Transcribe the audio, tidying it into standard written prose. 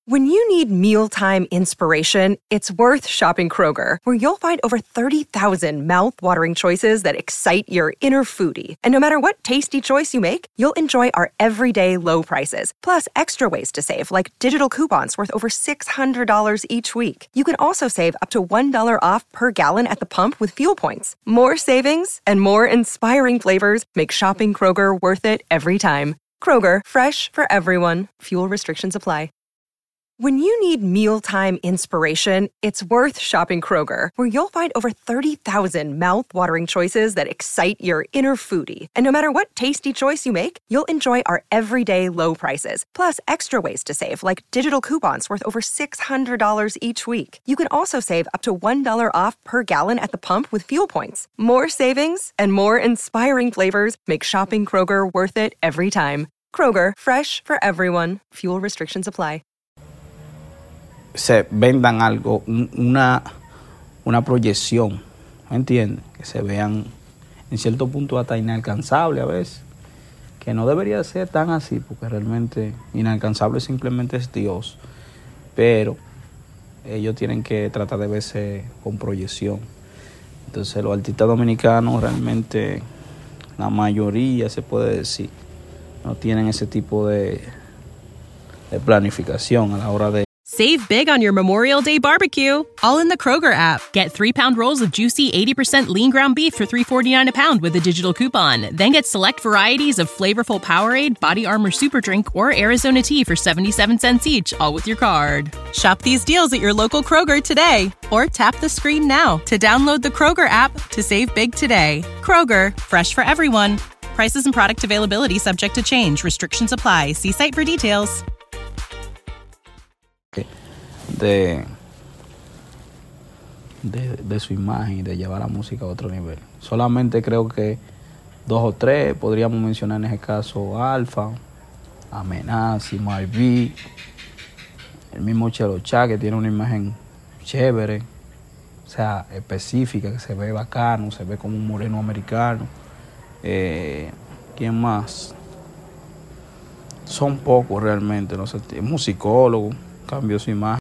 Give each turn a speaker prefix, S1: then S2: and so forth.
S1: When you need mealtime inspiration, it's worth shopping Kroger, where you'll find over 30,000 mouth-watering choices that excite your inner foodie. And no matter what tasty choice you make, you'll enjoy our everyday low prices, plus extra ways to save, like digital coupons worth over $600 each week. You can also save up to $1 off per gallon at the pump with fuel points. More savings and more inspiring flavors make shopping Kroger worth it every time. Kroger, fresh for everyone. Fuel restrictions apply. When you need mealtime inspiration, it's worth shopping Kroger, where you'll find over 30,000 mouth-watering choices that excite your inner foodie. And no matter what tasty choice you make, you'll enjoy our everyday low prices, plus extra ways to save, like digital coupons worth over $600 each week. You can also save up to $1 off per gallon at the pump with fuel points. More savings and more inspiring flavors make shopping Kroger worth it every time. Kroger, fresh for everyone. Fuel restrictions apply.
S2: Se vendan algo, una proyección, ¿me entiendes? Que se vean en cierto punto hasta inalcanzable a veces, que no debería ser tan así, porque realmente inalcanzable simplemente es Dios, pero ellos tienen que tratar de verse con proyección. Entonces los artistas dominicanos realmente, la mayoría se puede decir, no tienen ese tipo de planificación a la hora de...
S3: Save big on your Memorial Day barbecue, all in the Kroger app. Get 3-pound rolls of juicy 80% lean ground beef for $3.49 a pound with a digital coupon. Then get select varieties of flavorful Powerade, Body Armor Super Drink, or Arizona tea for 77 cents each, all with your card. Shop these deals at your local Kroger today, or tap the screen now to download the Kroger app to save big today. Kroger, fresh for everyone. Prices and product availability subject to change. Restrictions apply. See site for details.
S2: De su imagen y de llevar la música a otro nivel. Solamente creo que 2 o 3 podríamos mencionar en ese caso: Alfa, Amenazi, Marví, el mismo Chelo Chá, que tiene una imagen chévere, o sea, específica, que se ve bacano, se ve como un moreno americano. ¿Quién más? Son pocos realmente, no sé, musicólogo, cambió su imagen.